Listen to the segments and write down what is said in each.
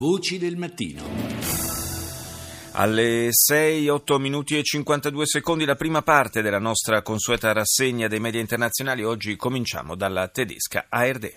Voci del mattino. Alle 6, 8 minuti e 52 secondi la prima parte della nostra consueta rassegna dei media internazionali. Oggi cominciamo dalla tedesca ARD.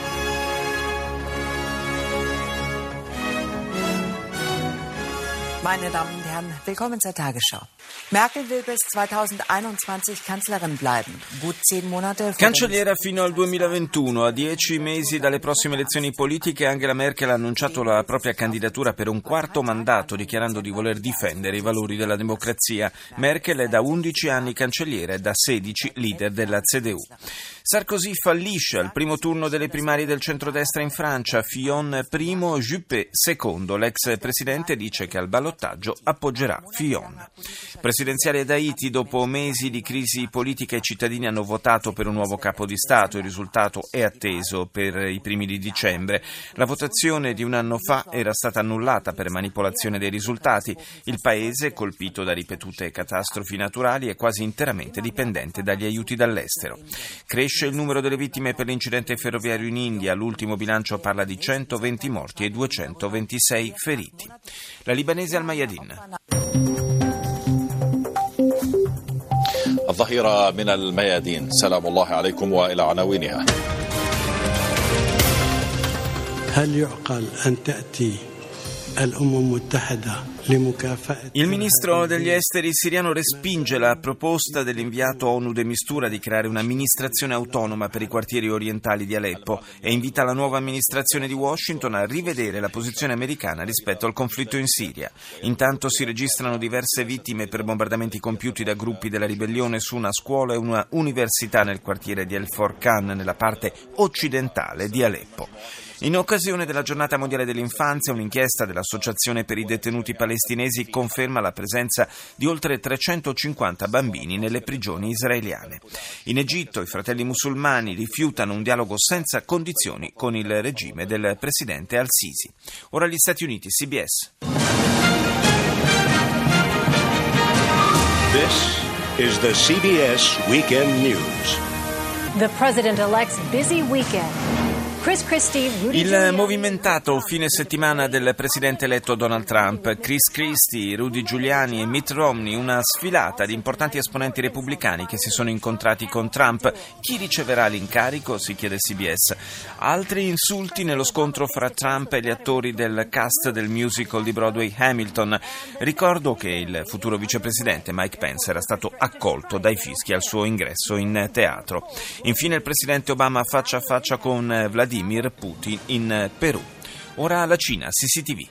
Meine Damen und Herren, willkommen zur Tagesschau. Merkel will bis 2021 Kanzlerin bleiben. Gut 10 Monate. Cancelliera fino al 2021. A 10 mesi dalle prossime elezioni politiche, Angela Merkel ha annunciato la propria candidatura per un quarto mandato, dichiarando di voler difendere i valori della democrazia. Merkel è da 11 anni cancelliera e da 16 leader della CDU. Sarkozy fallisce al primo turno delle primarie del centrodestra in Francia. Fillon primo, Juppé secondo. L'ex presidente dice che al ballottaggio appoggerà Fillon. Presidenziale ad Haiti, dopo mesi di crisi politica i cittadini hanno votato per un nuovo capo di Stato. Il risultato è atteso per i primi di dicembre. La votazione di un anno fa era stata annullata per manipolazione dei risultati. Il paese, colpito da ripetute catastrofi naturali, è quasi interamente dipendente dagli aiuti dall'estero. Cresce il numero delle vittime per l'incidente ferroviario in India. L'ultimo bilancio parla di 120 morti e 226 feriti. La libanese Al Mayadin. الظهيرة من الميادين سلام الله عليكم وإلى عناوينها. هل يعقل أن تأتي الأمم المتحدة لمكافأة؟ Il ministro degli esteri siriano respinge la proposta dell'inviato ONU de Mistura di creare un'amministrazione autonoma per i quartieri orientali di Aleppo e invita la nuova amministrazione di Washington a rivedere la posizione americana rispetto al conflitto in Siria. Intanto si registrano diverse vittime per bombardamenti compiuti da gruppi della ribellione su una scuola e una università nel quartiere di El Forcan, nella parte occidentale di Aleppo. In occasione della Giornata Mondiale dell'Infanzia, un'inchiesta dell'Associazione per i detenuti palestinesi conferma la presenza di oltre 350 bambini nelle prigioni israeliane. In Egitto i fratelli musulmani rifiutano un dialogo senza condizioni con il regime del presidente Al-Sisi. Ora gli Stati Uniti, CBS. This is the CBS Weekend News. The president-elect's busy weekend. Il movimentato fine settimana del presidente eletto Donald Trump, Chris Christie, Rudy Giuliani e Mitt Romney, una sfilata di importanti esponenti repubblicani che si sono incontrati con Trump. Chi riceverà l'incarico? Si chiede CBS. Altri insulti nello scontro fra Trump e gli attori del cast del musical di Broadway Hamilton. Ricordo che il futuro vicepresidente Mike Pence era stato accolto dai fischi al suo ingresso in teatro. Infine il presidente Obama faccia a faccia con Vladimir Putin in Perù. Ora la Cina, CCTV.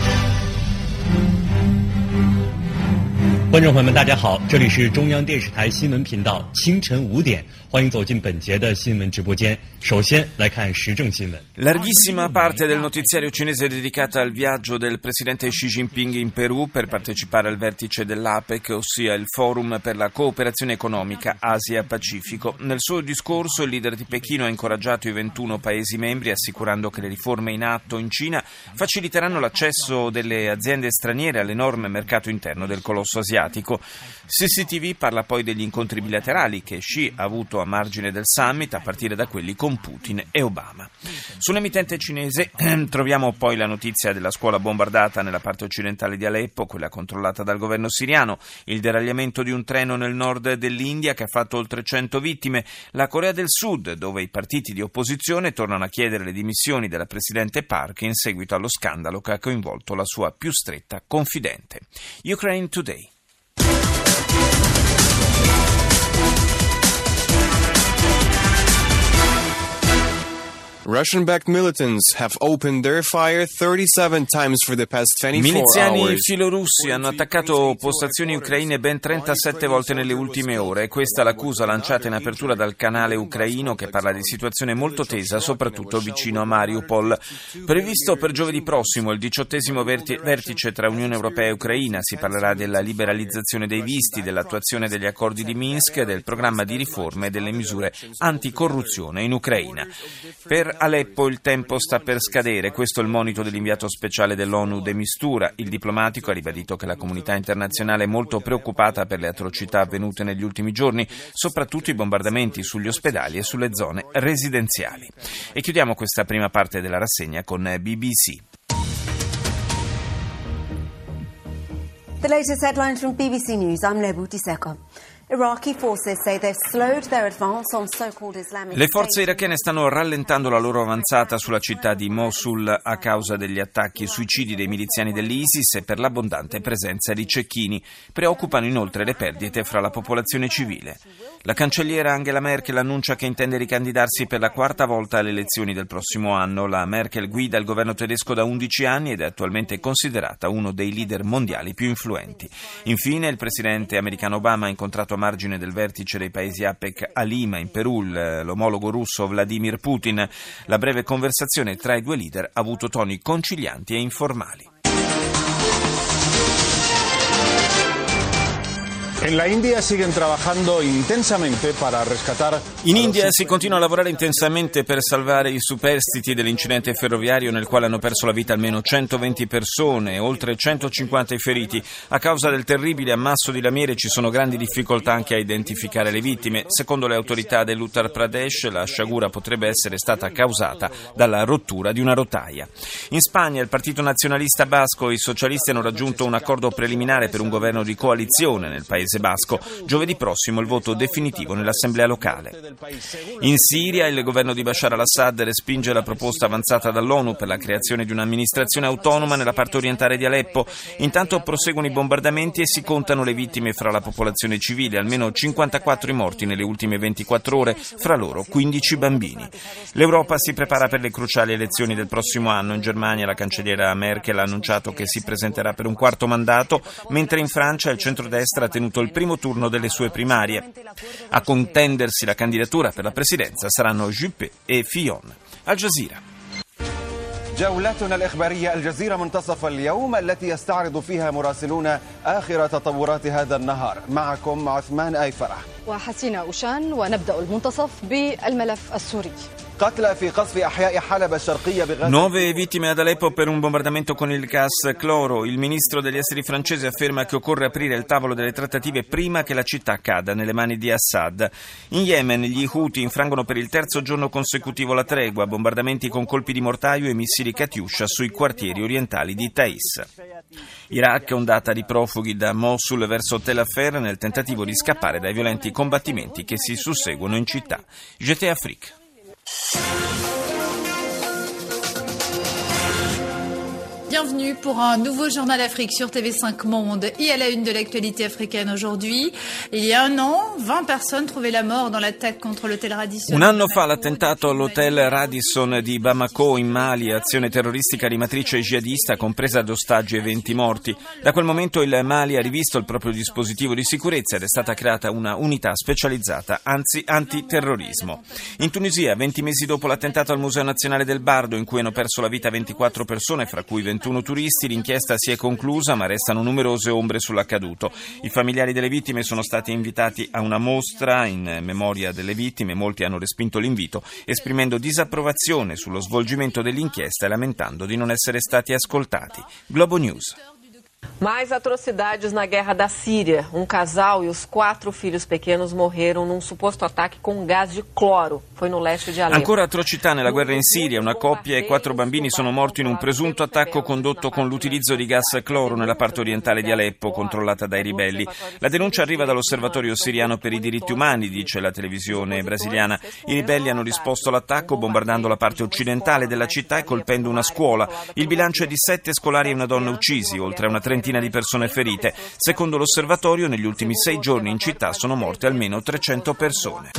观众朋友们大家好，这里是中央电视台新闻频道，清晨5点，欢迎走进本节的新闻直播间。首先来看时政新闻。 Larghissima parte del notiziario cinese è dedicata al viaggio del presidente Xi Jinping in Perù per partecipare al vertice dell'APEC, ossia il Forum per la cooperazione economica Asia-Pacifico. Nel suo discorso il leader di Pechino ha incoraggiato i 21 paesi membri, assicurando che le riforme in atto in Cina faciliteranno l'accesso delle aziende straniere all'enorme mercato interno del colosso asiatico. CCTV parla poi degli incontri bilaterali che Xi ha avuto a margine del summit, a partire da quelli con Putin e Obama. Sull'emittente cinese troviamo poi la notizia della scuola bombardata nella parte occidentale di Aleppo, quella controllata dal governo siriano, il deragliamento di un treno nel nord dell'India che ha fatto oltre 100 vittime, la Corea del Sud, dove i partiti di opposizione tornano a chiedere le dimissioni della presidente Park in seguito allo scandalo che ha coinvolto la sua più stretta confidente. Ukraine Today. Russian-backed militants have opened their fire 37 times for the past 24 Miliziani hours. filorussi hanno attaccato postazioni ucraine ben 37 volte nelle ultime ore e questa è l'accusa lanciata in apertura dal canale ucraino che parla di situazione molto tesa, soprattutto vicino a Mariupol. Previsto per giovedì prossimo il 18° vertice tra Unione Europea e Ucraina, si parlerà della liberalizzazione dei visti, dell'attuazione degli accordi di Minsk, del programma di riforme e delle misure anticorruzione in Ucraina. Per Aleppo il tempo sta per scadere, questo è il monito dell'inviato speciale dell'ONU de Mistura. Il diplomatico ha ribadito che la comunità internazionale è molto preoccupata per le atrocità avvenute negli ultimi giorni, soprattutto i bombardamenti sugli ospedali e sulle zone residenziali. E chiudiamo questa prima parte della rassegna con BBC. The latest headlines from BBC News. I'm Lebuti Seko. Iraqi forces say they've slowed their advance on so-called Islamic Le forze irachene stanno rallentando la loro avanzata sulla città di Mosul a causa degli attacchi e suicidi dei miliziani dell'ISIS e per l'abbondante presenza di cecchini. Preoccupano inoltre le perdite fra la popolazione civile. La cancelliera Angela Merkel annuncia che intende ricandidarsi per la quarta volta alle elezioni del prossimo anno. La Merkel guida il governo tedesco da 11 anni ed è attualmente considerata uno dei leader mondiali più influenti. Infine, il presidente americano Obama ha incontrato a margine del vertice dei paesi APEC a Lima, in Perù, l'omologo russo Vladimir Putin. La breve conversazione tra i due leader ha avuto toni concilianti e informali. En la India siguen trabajando intensamente para rescatar. In India si continua a lavorare intensamente per salvare i superstiti dell'incidente ferroviario nel quale hanno perso la vita almeno 120 persone e oltre 150 i feriti. A causa del terribile ammasso di lamiere ci sono grandi difficoltà anche a identificare le vittime. Secondo le autorità dell'Uttar Pradesh, la sciagura potrebbe essere stata causata dalla rottura di una rotaia. In Spagna il Partito Nazionalista Basco e i socialisti hanno raggiunto un accordo preliminare per un governo di coalizione nel paese basco. Giovedì prossimo il voto definitivo nell'assemblea locale. In Siria il governo di Bashar al-Assad respinge la proposta avanzata dall'ONU per la creazione di un'amministrazione autonoma nella parte orientale di Aleppo. Intanto proseguono i bombardamenti e si contano le vittime fra la popolazione civile, almeno 54 i morti nelle ultime 24 ore, fra loro 15 bambini. L'Europa si prepara per le cruciali elezioni del prossimo anno. In Germania la cancelliera Merkel ha annunciato che si presenterà per un quarto mandato, mentre in Francia il centrodestra ha tenuto il primo turno delle sue primarie. A contendersi la candidatura per la presidenza saranno Juppé e Fillon. Al Jazeera. جولتنا الإخبارية الجزيرة منتصف اليوم التي يستعرض فيها مراسلون آخر تطورات هذا النهار. معكم عثمان آي فرح وحسينة أوشان ونبدأ المنتصف بالملف السوري. 9 vittime ad Aleppo per un bombardamento con il gas cloro. Il ministro degli esteri francese afferma che occorre aprire il tavolo delle trattative prima che la città cada nelle mani di Assad. In Yemen gli Houthi infrangono per il terzo giorno consecutivo la tregua, bombardamenti con colpi di mortaio e missili Katyusha sui quartieri orientali di Taiz. Iraq, ondata di profughi da Mosul verso Tel Afer nel tentativo di scappare dai violenti combattimenti che si susseguono in città. JT Afrique. Bienvenue pour un nouveau journal Afrique sur TV5 Monde et à la une de l'actualité africaine aujourd'hui. Il y a un an, 20 personnes trouvaient la mort dans l'attaque contre l'hôtel Radisson. Un anno fa l'attentato all'hotel Radisson di Bamako in Mali, azione terroristica di matrice jihadista compresa ad ostaggi e 20 morti. Da quel momento il Mali ha rivisto il proprio dispositivo di sicurezza ed è stata creata una unità specializzata antiterrorismo. In Tunisia, 20 mesi dopo l'attentato al Museo Nazionale del Bardo in cui hanno perso la vita 24 persone, fra cui 21 turisti, l'inchiesta si è conclusa ma restano numerose ombre sull'accaduto. I familiari delle vittime sono stati invitati a una mostra in memoria delle vittime, molti hanno respinto l'invito esprimendo disapprovazione sullo svolgimento dell'inchiesta e lamentando di non essere stati ascoltati. Globo News. Mais atrocidades na guerra da Síria. Um casal e os 4 filhos pequenos morreram num suposto ataque com gás de cloro. Foi no leste di Aleppo. Ancora atrocità nella guerra in Siria. Una coppia e 4 bambini sono morti in un presunto attacco condotto con l'utilizzo di gas cloro nella parte orientale di Aleppo, controllata dai ribelli. La denuncia arriva dall'Osservatorio siriano per i diritti umani, dice la televisione brasiliana. I ribelli hanno risposto all'attacco bombardando la parte occidentale della città e colpendo una scuola. Il bilancio è di 7 scolari e una donna uccisi, oltre a una trentina di persone ferite. Secondo l'osservatorio, negli ultimi 6 giorni in città sono morte almeno 300 persone.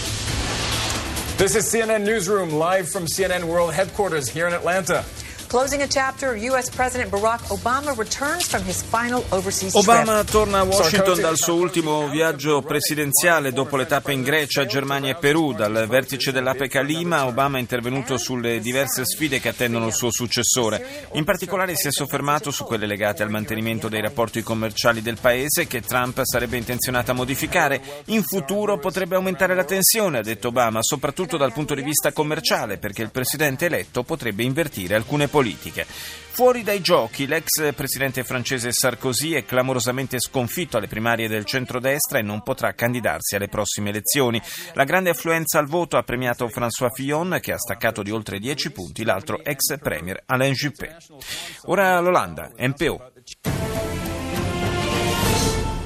This is CNN Newsroom, live from CNN World Headquarters here in Atlanta. Closing a chapter, U.S. President Barack Obama returns from his final overseas trip. Obama torna a Washington dal suo ultimo viaggio presidenziale dopo le tappe in Grecia, Germania e Perù. Dal vertice dell'APEC a Lima, Obama è intervenuto sulle diverse sfide che attendono il suo successore. In particolare si è soffermato su quelle legate al mantenimento dei rapporti commerciali del paese che Trump sarebbe intenzionato a modificare. In futuro potrebbe aumentare la tensione, ha detto Obama, soprattutto dal punto di vista commerciale, perché il presidente eletto potrebbe invertire alcune politiche. Fuori dai giochi, l'ex presidente francese Sarkozy è clamorosamente sconfitto alle primarie del centrodestra e non potrà candidarsi alle prossime elezioni. La grande affluenza al voto ha premiato François Fillon, che ha staccato di oltre 10 punti l'altro ex premier Alain Juppé. Ora l'Olanda, NPO.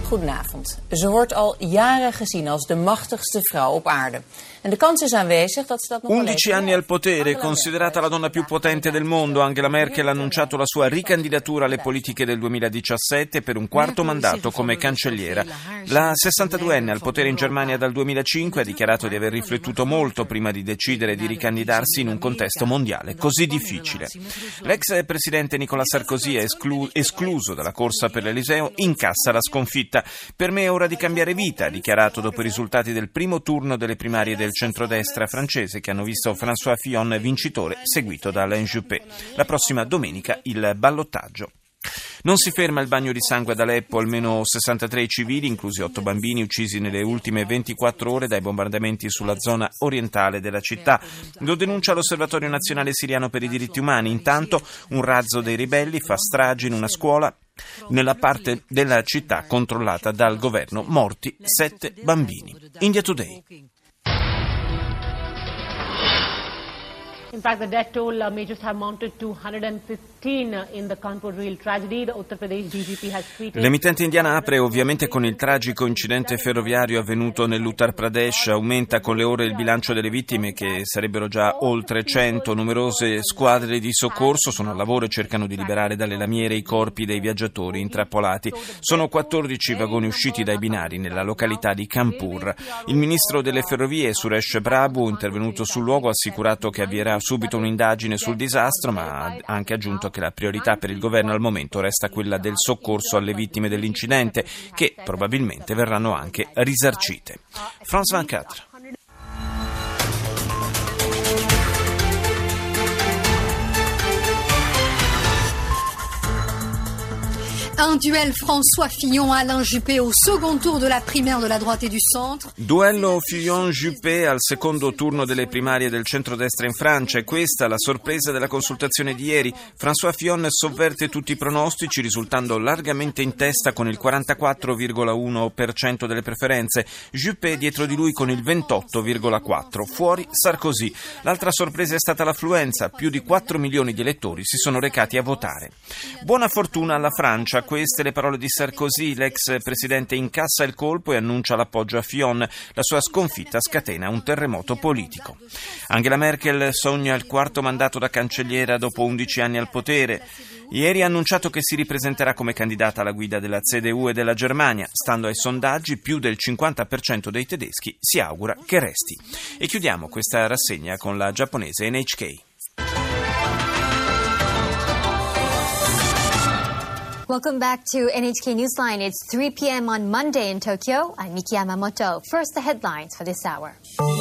Goedenavond. Ze wordt al jaren gezien als de machtigste vrouw op aarde. En de kans is aanwezig dat ze dat nog 11 anni al potere, considerata la donna più potente del mondo, Angela Merkel ha annunciato la sua ricandidatura alle politiche del 2017 per un quarto mandato come cancelliera. La 62enne al potere in Germania dal 2005 ha dichiarato di aver riflettuto molto prima di decidere di ricandidarsi in un contesto mondiale così difficile. L'ex presidente Nicolas Sarkozy è escluso dalla corsa per l'Eliseo, incassa la sconfitta. Per me è ora di cambiare vita, ha dichiarato dopo i risultati del primo turno delle primarie del centrodestra francese che hanno visto François Fillon vincitore, seguito da Alain Juppé. La prossima domenica il ballottaggio. Non si ferma il bagno di sangue ad Aleppo, almeno 63 civili, inclusi 8 bambini, uccisi nelle ultime 24 ore dai bombardamenti sulla zona orientale della città. Lo denuncia l'Osservatorio Nazionale Siriano per i Diritti Umani. Intanto un razzo dei ribelli fa strage in una scuola nella parte della città controllata dal governo. Morti 7 bambini. India Today. In fact, the death toll may just have mounted to 115 in the Kanpur rail tragedy. The Uttar Pradesh DGP has tweeted. L'emittente indiana apre ovviamente con il tragico incidente ferroviario avvenuto nell'Uttar Pradesh. Aumenta con le ore il bilancio delle vittime, che sarebbero già oltre 100. Numerose squadre di soccorso sono al lavoro e cercano di liberare dalle lamiere i corpi dei viaggiatori intrappolati. Sono 14 vagoni usciti dai binari nella località di Kanpur. Il ministro delle ferrovie Suresh Prabhu, intervenuto sul luogo, ha assicurato che avvierà subito un'indagine sul disastro, ma ha anche aggiunto che la priorità per il governo al momento resta quella del soccorso alle vittime dell'incidente, che probabilmente verranno anche risarcite. France 24. Un duel François Fillon-Alain Juppé au second tour de la primaire de la droite et du centre. Duello Fillon-Juppé al secondo turno delle primarie del centrodestra in Francia. E questa la sorpresa della consultazione di ieri. François Fillon sovverte tutti i pronostici, risultando largamente in testa con il 44,1% delle preferenze. Juppé dietro di lui con il 28,4%. Fuori Sarkozy. L'altra sorpresa è stata l'affluenza. Più di 4 milioni di elettori si sono recati a votare. Buona fortuna alla Francia. Queste le parole di Sarkozy. L'ex presidente incassa il colpo e annuncia l'appoggio a Fillon. La sua sconfitta scatena un terremoto politico. Angela Merkel sogna il quarto mandato da cancelliera dopo 11 anni al potere. Ieri ha annunciato che si ripresenterà come candidata alla guida della CDU e della Germania. Stando ai sondaggi, più del 50% dei tedeschi si augura che resti. E chiudiamo questa rassegna con la giapponese NHK. Welcome back to NHK Newsline. It's 3 p.m. on Monday in Tokyo. I'm Miki Yamamoto. First, the headlines for this hour.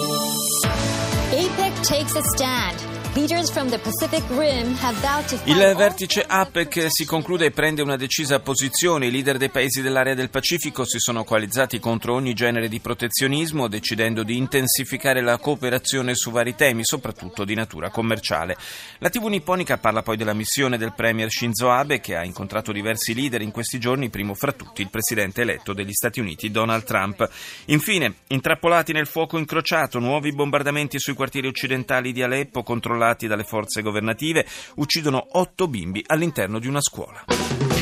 APEC takes a stand. Leaders from the Pacific Rim have vowed to fight. Il vertice APEC si conclude e prende una decisa posizione. I leader dei paesi dell'area del Pacifico si sono coalizzati contro ogni genere di protezionismo, decidendo di intensificare la cooperazione su vari temi, soprattutto di natura commerciale. La TV nipponica parla poi della missione del premier Shinzo Abe, che ha incontrato diversi leader in questi giorni, primo fra tutti il presidente eletto degli Stati Uniti Donald Trump. Infine, intrappolati nel fuoco incrociato, nuovi bombardamenti sui quartieri occidentali di Aleppo controllati dalle forze governative uccidono 8 bimbi all'interno di una scuola.